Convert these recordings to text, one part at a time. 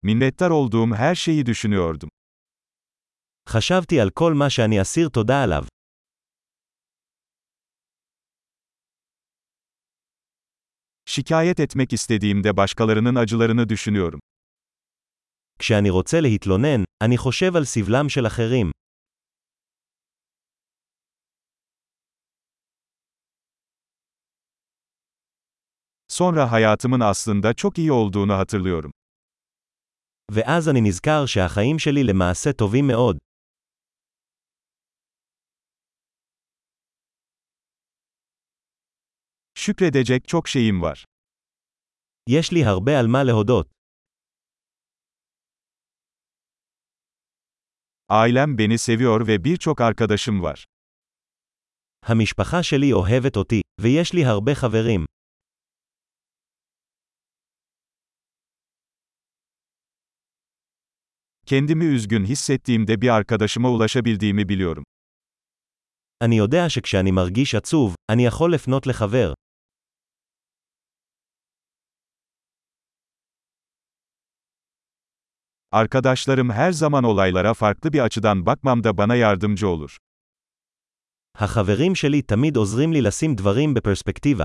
Minnettar olduğum her şeyi düşünüyordum. חשבתי על כל מה שאני אסיר תודה עליו. Şikayet etmek istediğimde başkalarının acılarını düşünüyorum. כשאני רוצה להתלונן, אני חושב על סבלם של אחרים. Sonra hayatımın aslında çok iyi olduğunu hatırlıyorum. ואז אני נזכר שהחיים שלי למעשה טובים מאוד. Şükredecek çok şeyim var. יש לי הרבה על מה להודות. Ailem beni seviyor ve birçok arkadaşım var. המשפחה שלי אוהבת אותי, ויש לי הרבה חברים. Kendimi üzgün hissettiğimde bir arkadaşıma ulaşabildiğimi biliyorum. אני יודע שכשאני מרגיש עצוב, אני יכול לפנות לחבר. Arkadaşlarım her zaman olaylara farklı bir açıdan bakmamda bana yardımcı olur. החברים שלי תמיד עוזרים לי לשים דברים בפרספקטיבה.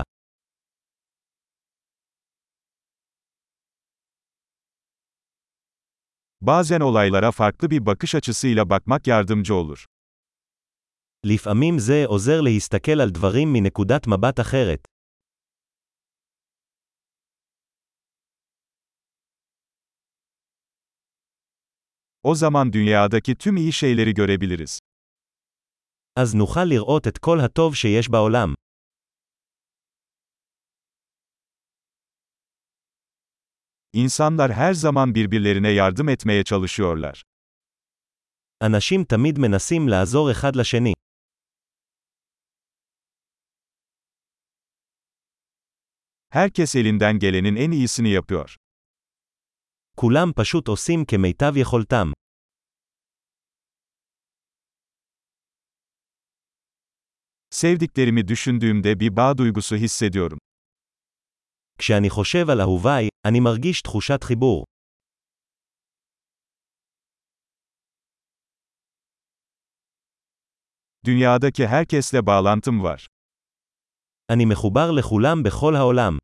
Bazen olaylara farklı bir bakış açısıyla bakmak yardımcı olur. לפעמים זה עוזר להסתכל על דברים מנקודת מבט אחרת. O zaman dünyadaki tüm iyi şeyleri görebiliriz. אז נוכל לראות את כל הטוב שיש בעולם. İnsanlar her zaman birbirlerine yardım etmeye çalışıyorlar. אנשים תמיד מנסים לעזור אחד לשני. Herkes elinden gelenin en iyisini yapıyor. כולם פשוט עושים כמיטב יכולתם. Sevdiklerimi düşündüğümde bir bağ duygusu hissediyorum. כשאני חושב על אהוביי, אני מרגיש תחושת חיבור. Dünyadaki herkesle bağlantım var. אני מחובר לכולם בכל העולם.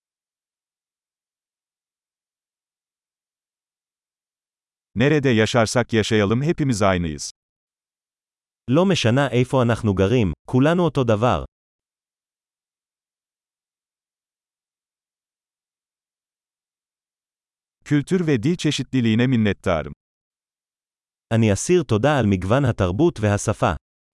Nerede yaşarsak yaşayalım hepimiz aynıyız. לא משנה איפה אנחנו גרים, כולנו אותו דבר. Kültür ve dil çeşitliliğine minnettarım. אני אסיר תודה על מגוון התרבות והשפה.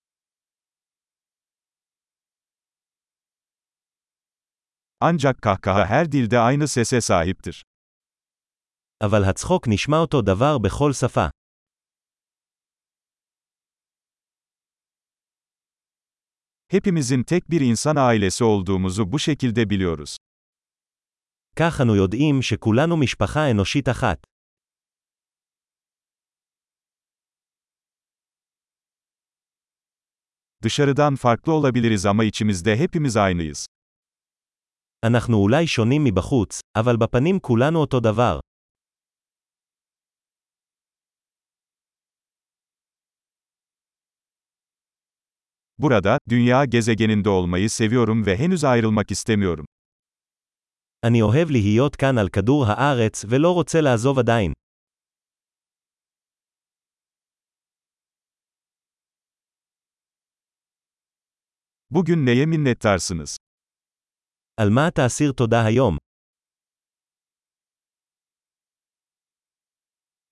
Ancak kahkaha her dilde aynı sese sahiptir. אבל הצחוק נשמע אותו דבר בכל שפה. Hepimizin tek bir insan ailesi olduğumuzu bu şekilde biliyoruz. כך אנו יודעים שכולנו משפחה אנושית אחת. Dışarıdan farklı olabiliriz ama içimizde hepimiz aynıyız. אנחנו אולי שונים מבחוץ, אבל בפנים כולנו אותו דבר. Burada, dünya gezegeninde olmayı seviyorum ve henüz ayrılmak istemiyorum. אני אוהב להיות כאן על כדור הארץ ולא רוצה לעזוב עדיין. Bugün neye minnettarsınız? על מה אתה אסיר תודה היום?